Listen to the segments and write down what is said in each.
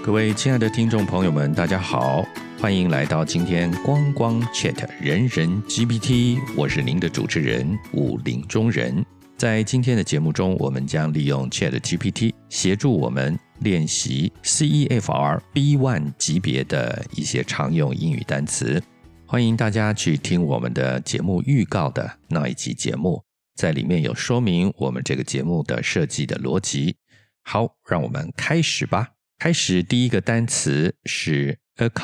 各位親愛的聽眾朋友們，大家好，歡迎來到今天光光 Chat 人人 GPT， 我是您的主持人武林中人。在今天的節目中，我們將利用 Chat GPT 協助我們練習 CEFR B1 級別的一些常用英語單詞。歡迎大家去聽我們的節目預告的那一集節目，在裡面有說明我們這個節目的設計的邏輯。好，讓我們開始吧。開始，第一個單詞是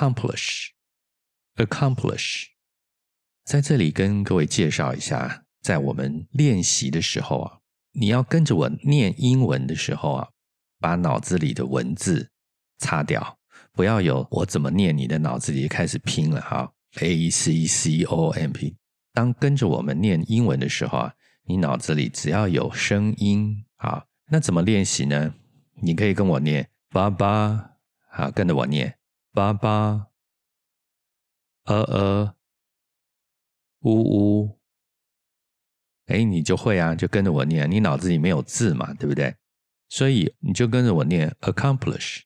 accomplish。在這裡跟各位介紹一下，在我們練習的時候啊，你要跟着我念英文的時候啊，把腦子裡的文字擦掉，不要有我怎麼念，你的腦子裡開始拼了哈。ACCOMP。當跟着我們念英文的時候啊，你腦子裡只要有聲音啊，那怎麼練習呢？你可以跟我念爸爸，好，跟着我念爸爸，咿，嗚，你就會啊，就跟着我念，你腦子裡沒有字嘛，對不對？所以你就跟着我念 accomplish，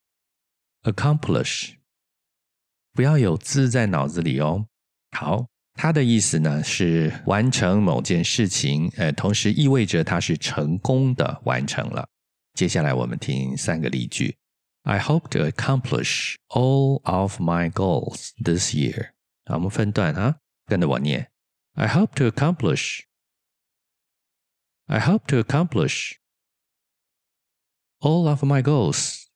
不要有字在腦子裡哦。好，它的意思呢是完成某件事情，同時意味着它是成功的完成了。接下來我們聽3個例句。I hope to accomplish all of my goals this year。好，我們分段啊，跟着我念。I hope to accomplish all of my goals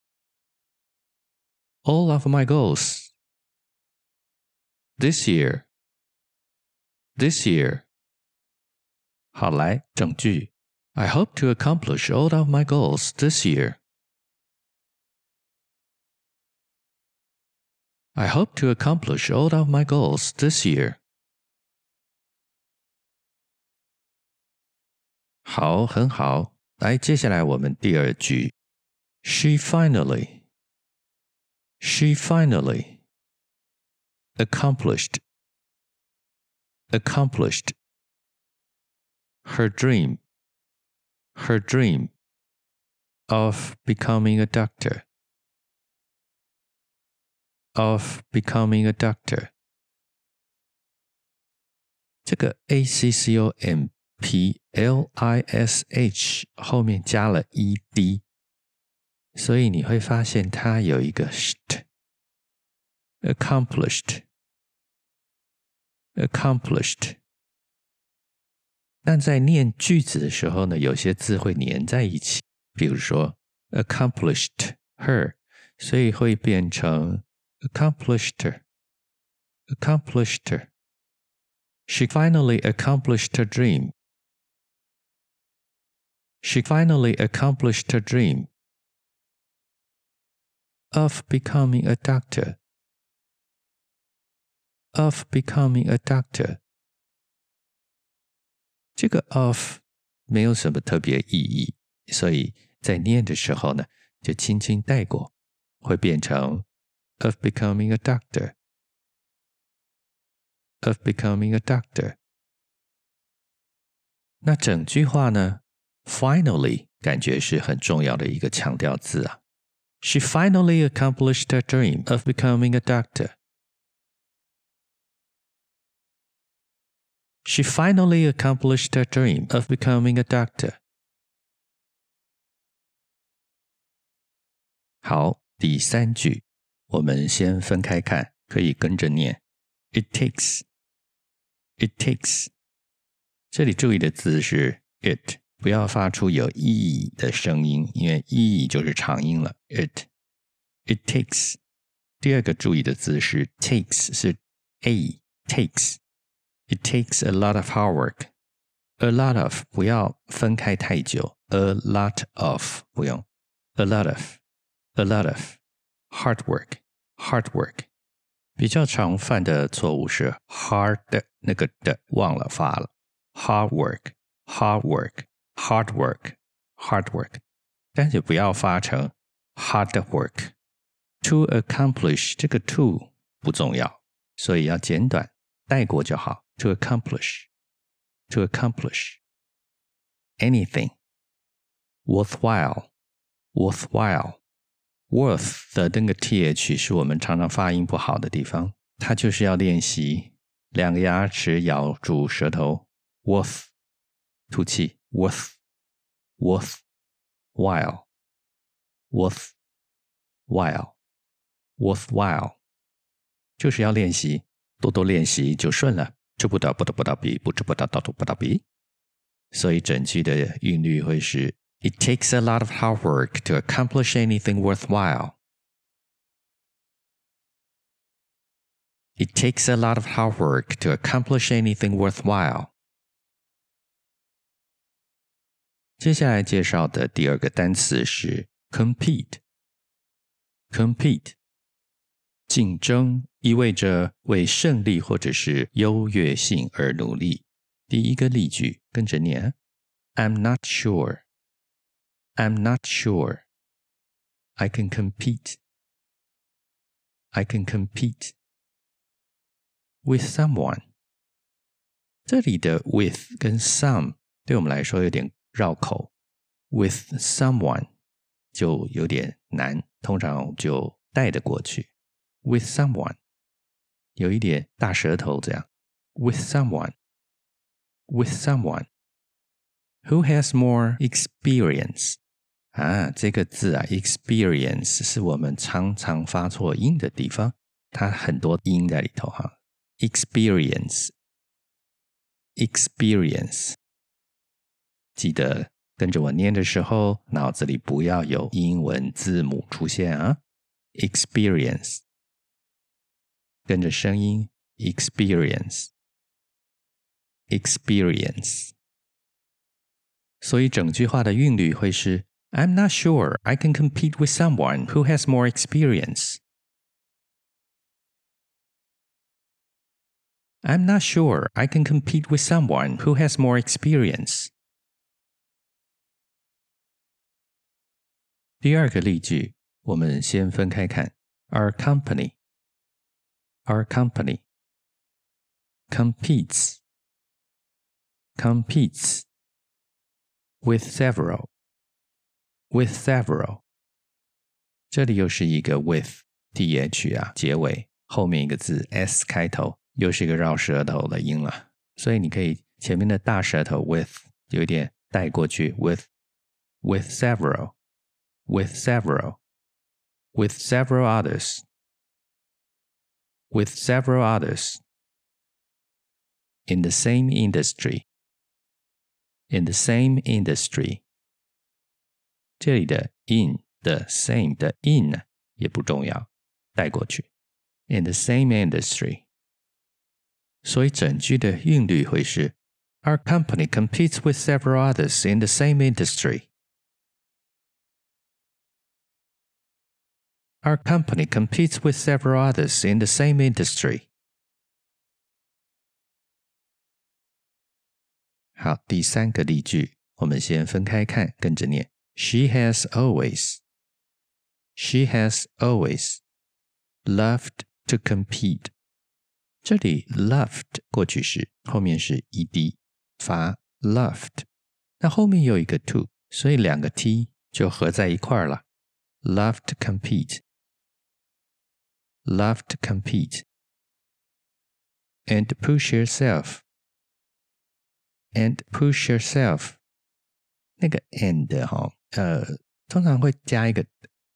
this year。好，來，整句。I hope to accomplish all of my goals this year. I hope to accomplish all of my goals this year. 好，很好。來，接下來我們第2句。She finally accomplished her dream of becoming a doctor. 這個 ACCOMPLISH 後面加了 ED， 所以你會發現它有一個 ST。 accomplished。 但在念句子的時候呢，有些字會粘在一起，比如說 accomplished her， 所以會變成 accomplished her。 She finally accomplished her dream. Of becoming a doctor. 這個 of 沒有什麼特別意義，所以在念的時候呢，就輕輕帶過，會變成 of becoming a doctor。 那整句話呢 finally 感覺是很重要的一個強調字啊。She finally accomplished her dream of becoming a doctor. She finally accomplished her dream of becoming a doctor. 好，第3句，我們先分開看，可以跟着念。It takes。這裡注意的字是 it， 不要發出有 e 的聲音，因為 e 就是長音了。It takes。第2個注意的字是 takes， 是 a takes。It takes a lot of hard work. A lot of 不要分開太久。A lot of 不用。A lot of hard work。比較常犯的錯誤是 hard 那個的忘了發了。hard work， 但是不要發成 hard work。To accomplish 這個 to 不重要，所以要簡短帶過就好。To accomplish anything worthwhile worth 的那個 th 是我們常常發音不好的地方，它就是要練習兩個牙齒咬住舌頭 worth 吐氣 worth while worthwhile 就是要練習，多多練習就順了，知不道不得不道比，不知不道道不道比。所以整句的韻律會是 It takes a lot of hard work to accomplish anything worthwhile. It takes a lot of hard work to accomplish anything worthwhile. 接下來介紹的第二個單詞是 compete. Compete 競爭意味着為勝利或者是優越性而努力。第一個例句跟着念 I'm not sure. I'm not sure. I can compete. I can compete with someone. 這裡的 with 跟 some 對我們來說有點繞口。With someone 就有點難，通常就帶得過去。With someone 有一點大舌頭這樣。With someone. With someone who has more experience. 這個字experience 是我們常常發錯音的地方，它很多音在裡頭哈。Experience 記得跟着我念的時候，腦子裡不要有英文字母出現啊。Experience 跟着聲音 experience 所以整句話的韻律會是 I'm not sure I can compete with someone who has more experience. I'm not sure I can compete with someone who has more experience. 第二個例句，我們先分開看。Our company competes with several. 這裡又是一個 with th 結尾，後面一個字 s 開頭，又是一個繞舌頭的音了。所以你可以前面的大舌頭 with 有一點帶過去 with several others in the same industry. 這裡的 in 的 same 的 in 也不重要，帶過去 in the same industry。 所以整句的韻律會是 Our company competes with several others in the same industry. Our company competes with several others in the same industry. 好，第三個例句，我們先分開看，跟着念。She has always loved to compete. 這裡 loved 過去式，後面是 ed 發 loved， 那後面有一個 to， 所以兩個 t 就合在一塊了。Love to compete and push yourself. 那個 and 通常會加一個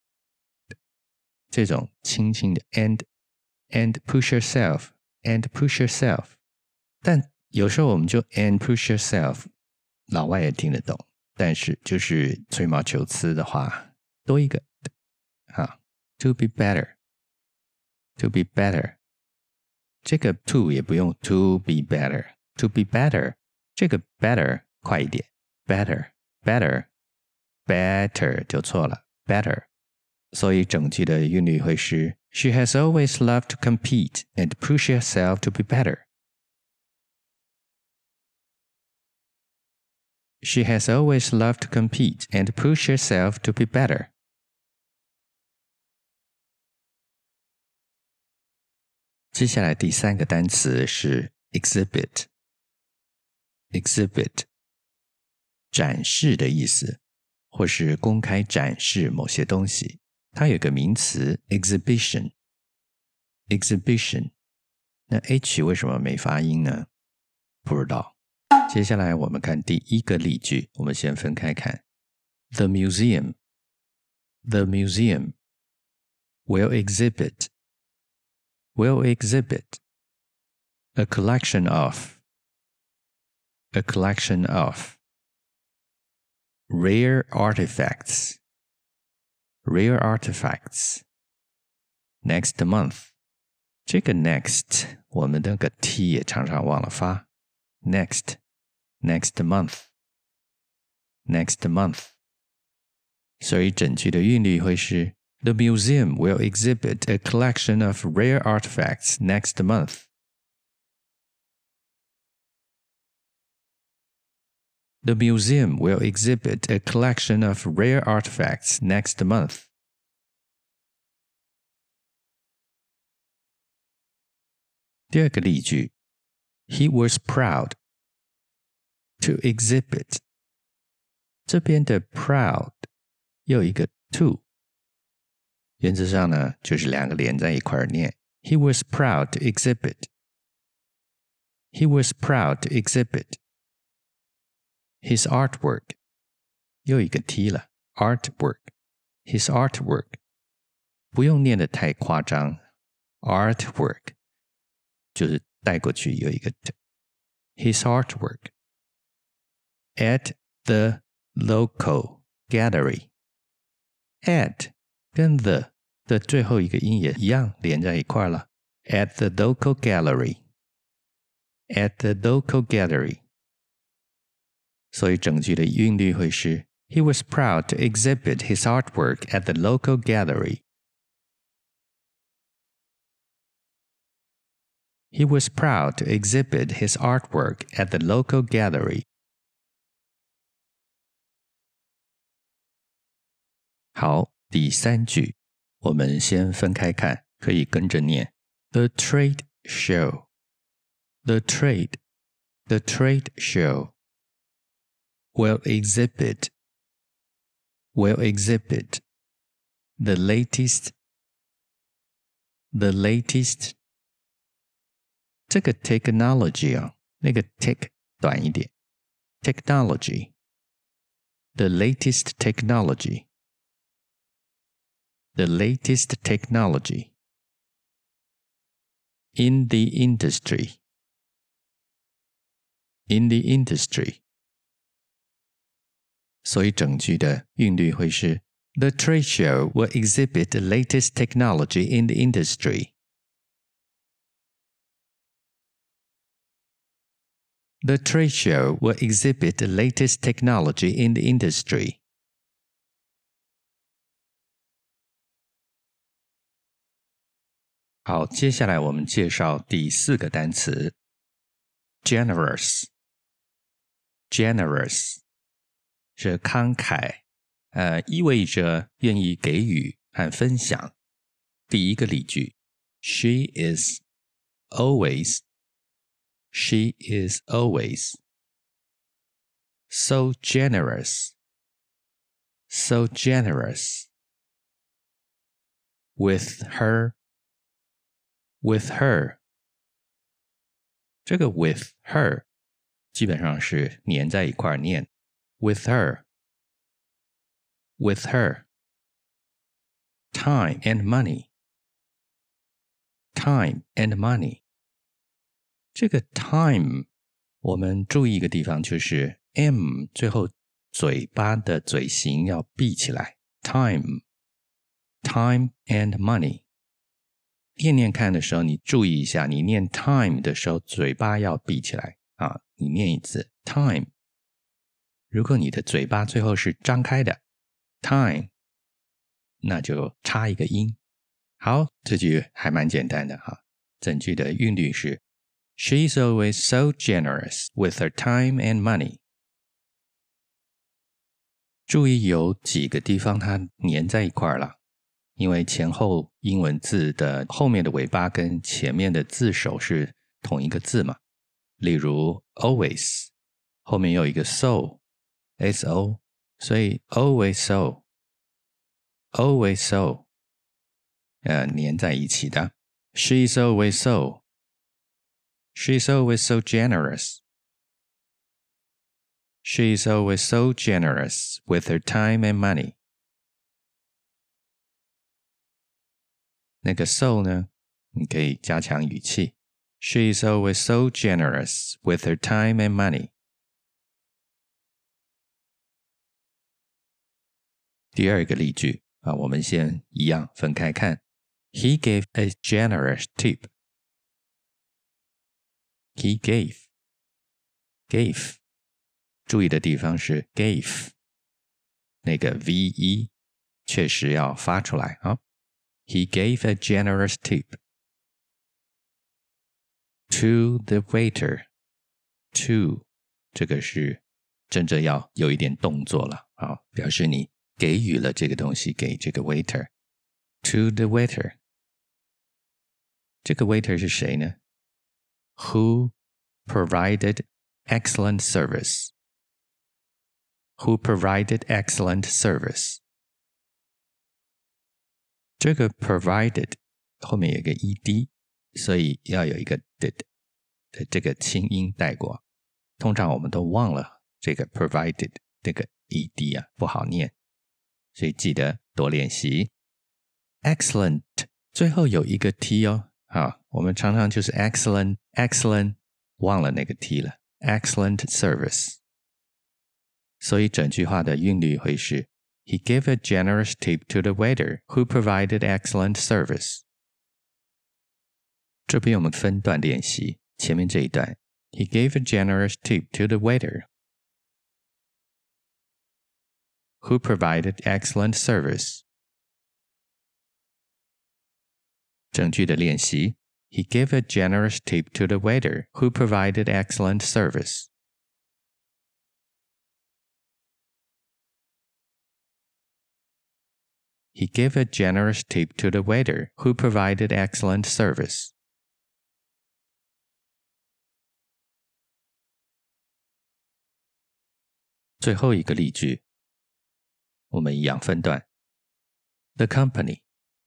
這種輕輕的 and push yourself， 但有時候我們就 and push yourself， 老外也聽得懂，但是就是吹毛求疵的話，多一個to be better， 這個 to 也不用 to be better， 這個 better 快一點 better 就錯了 better。 所以整句的韻律會是 She has always loved to compete and push herself to be better. She has always loved to compete and push herself to be better. 接下來第三個單詞是 exhibit， 展示的意思，或是公開展示某些東西。 它有個名詞 exhibition。那 H 為什麼沒發音呢？不知道。接下來我們看第一個例句，我們先分開看。The museum will exhibit a collection of rare artifacts next month。這個 next 我們那個 T 也常常忘了發。next month， 所以整句的韻律會是 The museum will exhibit a collection of rare artifacts next month. The museum will exhibit a collection of rare artifacts next month. 第二個例句 He was proud to exhibit. 這邊的 proud 又有一個 to， 原則上呢就是兩個連在一塊兒念。He was proud to exhibit. He was proud to exhibit his artwork. 又一個 T 了 artwork. His artwork. 不用念得太誇張 artwork 就是帶過去有一個 T. His artwork at the local gallery. At 跟 the 的最後一個音也一樣連在一塊了。At the local gallery. At the local gallery. 所以整句的韻律會是 He was proud to exhibit his artwork at the local gallery. He was proud to exhibit his artwork at the local gallery. 好，第三句，我們先分開看，可以跟着念。The trade show. The trade show will exhibit the latest 這個 technology 啊，那個 tech 短一點 technology the latest technology in the industry 所以整句的韻律會是 The trade show will exhibit the latest technology in the industry. The trade show will exhibit the latest technology in the industry. 好，接下來我們介紹第四個單詞 generous 是慷慨，意味着願意給予和分享。第一個例句 She is always so generous with her 這個 with her 基本上是粘在一塊念 with her time and money 這個 time 我們注意一個地方，就是 M 最後嘴巴的嘴型要閉起來 time and money 念看的時候你注意一下，你念 time 的時候嘴巴要閉起來啊，你念一次 time 如果你的嘴巴最後是張開的 time 那就插一個音。好，這句還蠻簡單的哈，整句的韻律是 She's always so generous with her time and money. 注意有幾個地方它粘在一塊了，因為前後英文字的後面的尾巴跟前面的字首是同一個字嘛。例如 always 後面有一個 so so 所以 always so 粘在一起的。She's always so. She's always so generous. She's always so generous with her time and money. 那個 so 呢，你可以加強語氣。She's always so generous with her time and money. 第二個例句我們先一樣分開看。He gave a generous tip. He gave. Gave. 注意的地方是 gave. 那個 ve 確實要發出來啊。He gave a generous tip to the waiter. To 這個是真正要有一點動作了啊，表示你給予了這個東西給這個 waiter. To the waiter. 這個 waiter 是誰呢？ Who provided excellent service. Who provided excellent service. 這個 provided 後面有一個 ed， 所以要有一個 did 的這個輕音帶過。通常我們都忘了這個 provided 這個 ed 不好念，所以記得多練習。Excellent 最後有一個 t 哦，我們常常就是 excellent excellent 忘了那個 t 了。Excellent service， 所以整句話的韻律會是 He gave a generous tip to the waiter who provided excellent service. 這邊我們分段練習，前面這一段 He gave a generous tip to the waiter who provided excellent service. 整句的練習 He gave a generous tip to the waiter who provided excellent service. He gave a generous tip to the waiter who provided excellent service. 最後一個例句，我們一樣分段。The company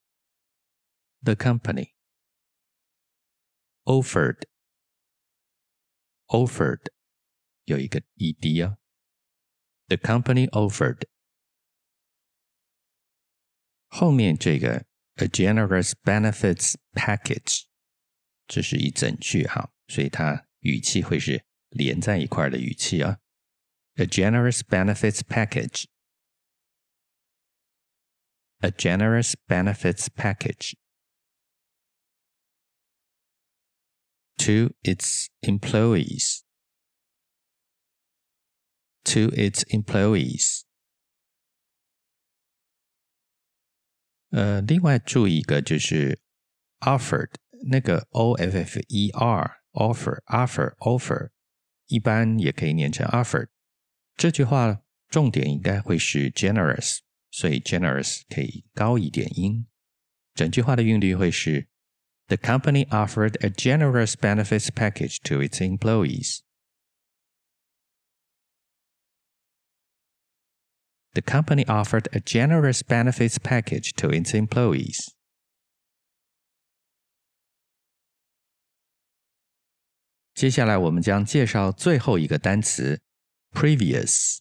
offered 有一個 ed 啊。The company offered 後面這個 a generous benefits package 這是一整句哈，所以它語氣會是連在一塊的語氣啊。A generous benefits package. A generous benefits package. To its employees. To its employees. 另外注意一個就是 offered 那個 offer offer 一般也可以念成 offered。這句話重點應該會是 generous， 所以 generous 可以高一點音。整句話的韻律會是 The company offered a generous benefits package to its employees. The company offered a generous benefits package to its employees. 接下來我們將介紹最後一個單詞 previous.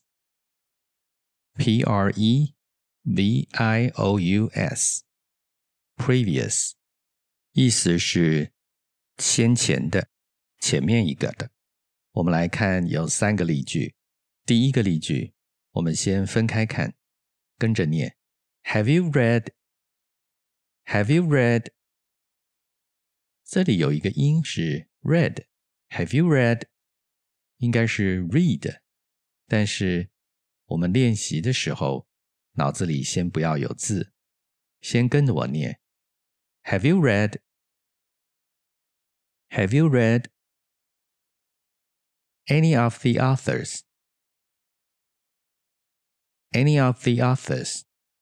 P-R-E-V-I-O-U-S. Previous. 意思是先前的，前面一個的。我們來看有3個例句。第一個例句我們先分開看，跟着念 Have you read? Have you read? 這裡有一個音是 read. Have you read? 應該是 read. 但是我們練習的時候，腦子裡先不要有字，先跟着我念 Have you read? Have you read any of the authors? Any of the authors.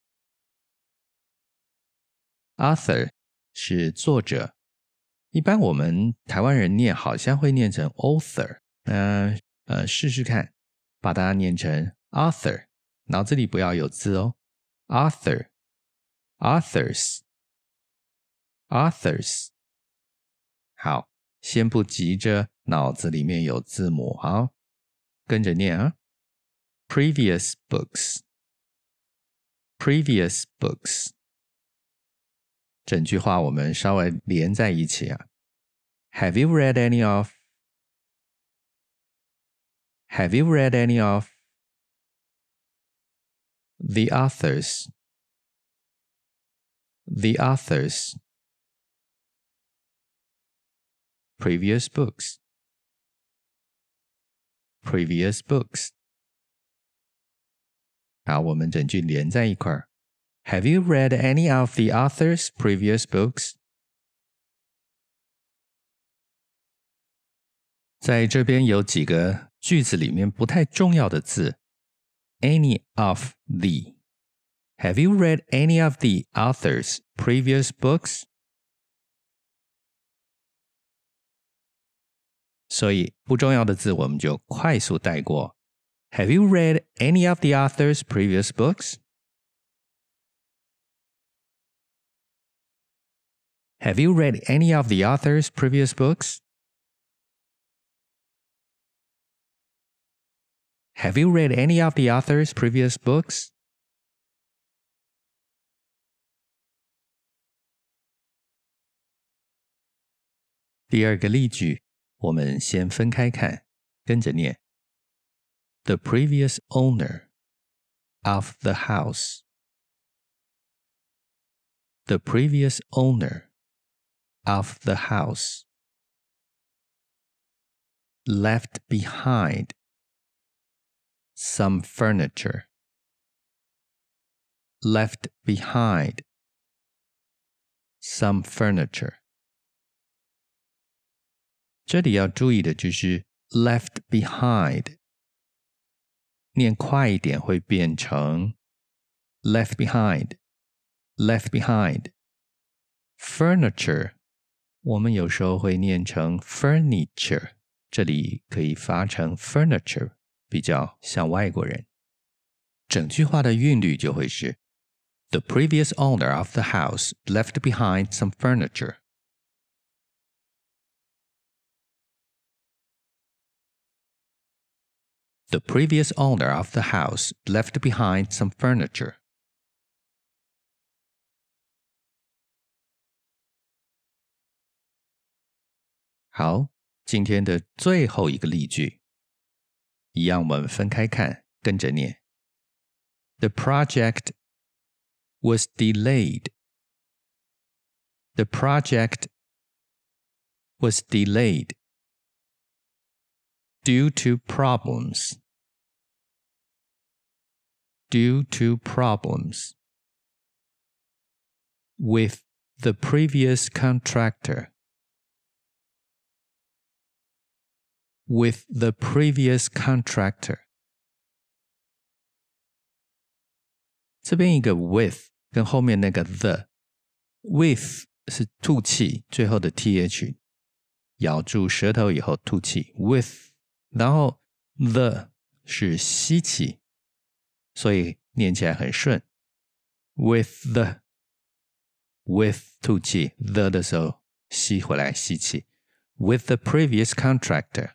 Author 是作者，一般我們台灣人念好像會念成 author， 試試看，把它念成 author， 腦子裡不要有字哦。Author, authors. authors。好，先不急着腦子裡面有字母，好，跟着念啊。Previous books, previous books。整句話我們稍微連在一起啊。Have you read any of? Have you read any of the authors? The authors. Previous books. Previous books. 好，我們整句連在一塊兒。Have you read any of the author's previous books? 在這邊有幾個句子裡面不太重要的字。Any of the. Have you read any of the author's previous books? 所以不重要的字我們就快速帶過。Have you read any of the author's previous books? Have you read any of the author's previous books? Have you read any of the author's previous books? 第二個例句，我們先分開看，跟着念。The previous owner of the house. The previous owner of the house left behind some furniture. Left behind some furniture. 這裡要注意的就是 left behind 念快一點會變成 left behind left behind furniture 我們有時候會念成 furniture 這裡可以發成 furniture 比較像外國人整句話的韻律就會是 The previous owner of the house left behind some furniture The previous owner of the house left behind some furniture. 好，今天的最後一個例句，一樣我們分開看，跟着念。The project was delayed. The project was delayed due to problems. Due to problems with the previous contractor. With the previous contractor. 這邊一個 with 跟後面那個 the with 是吐氣，最後的 th 咬住舌頭以後吐氣 with， 然後 the 是吸氣。所以念起來很順 with the with 吐氣 the 的時候吸回來吸氣 with the previous contractor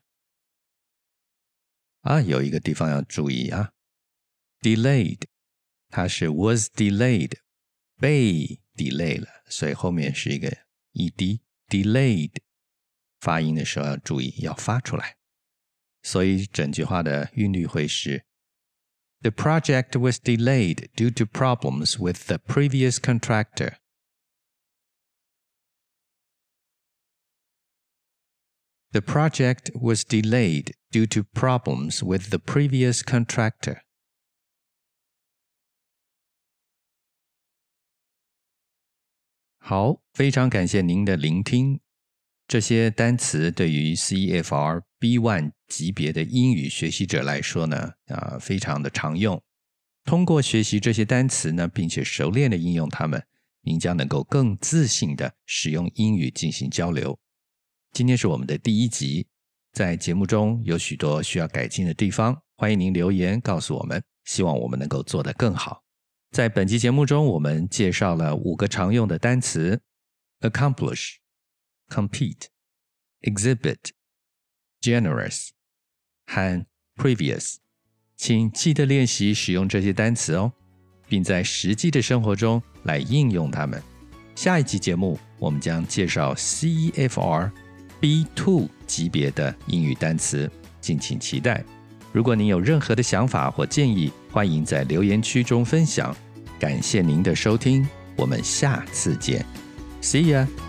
有一個地方要注意delayed 它是 was delayed 被 delay 了所以後面是一個 ed delayed 發音的時候要注意要發出來所以整句話的韻律會是The project was delayed due to problems with the previous contractor. The project was delayed due to problems with the previous contractor. 好，非常感謝您的聆聽。這些單詞對於 CEFR B1 級別的英語學習者來說呢，非常的常用。通過學習這些單詞呢，並且熟練的應用它們，您將能夠更自信的使用英語進行交流。今天是我們的第1集，在節目中有許多需要改進的地方，歡迎您留言告訴我們，希望我們能夠做得更好。在本期節目中，我們介紹了5個常用的單詞。 accomplish, compete, exhibit, generous 和 previous。請記得練習使用這些單詞哦，並在實際的生活中來應用它們。下一集節目，我們將介紹 CEFR B2 級別的英語單詞，敬請期待。如果您有任何的想法或建議，歡迎在留言區中分享。感謝您的收聽，我們下次見。See ya!